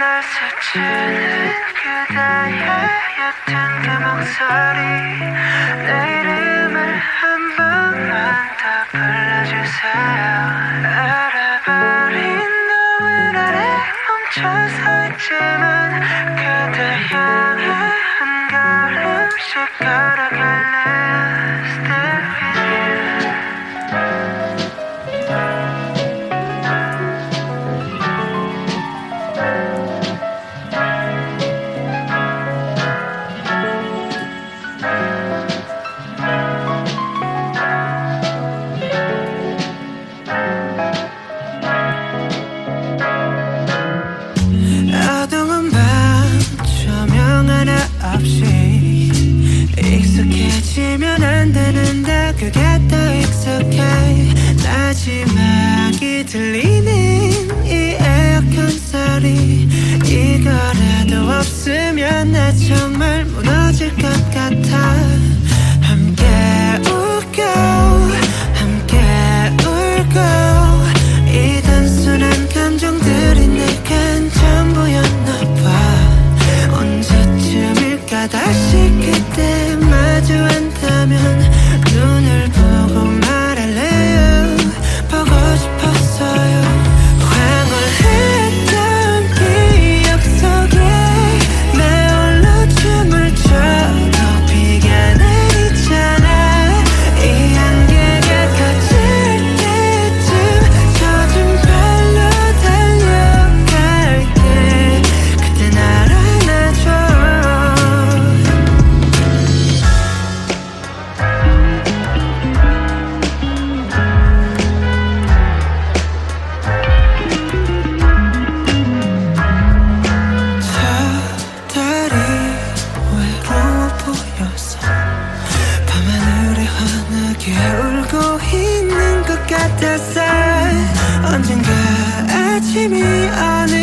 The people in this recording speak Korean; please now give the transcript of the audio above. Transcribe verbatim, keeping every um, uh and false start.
날 스치는 그대의 옅은 그 목소리 내 이름을 한 번만 더 불러주세요. 알아버린 노을 아래 멈춰 서 있지만 그대 향해 한 걸음씩 걸어갈래요. Still with you. 어두운 밤 조명 하나 없이 익숙해지면 안 되는데 그게 더 익숙해. 마지막이 들리는 이 에어컨 소리 이거라도 없으면 나 정말 무너질 것 같아. 함께 웃고 함께 울고 이 단순한 감정들이 내겐 전부였나 봐. 언제쯤일까 다시 그때 마주 앉다면 눈을 보고 말할래요. 보고 싶었어요. 황홀했던 기억 속에 내 홀로 춤을 춰도 비가 내리잖아. 이 안개가 커질 때쯤 젖은 발로 달려갈게. 그때 날 안아줘. 저 달이 외로워 보여서 밤하늘에 환하게 울고 있는 것 같았어. 언젠가 아침이 오는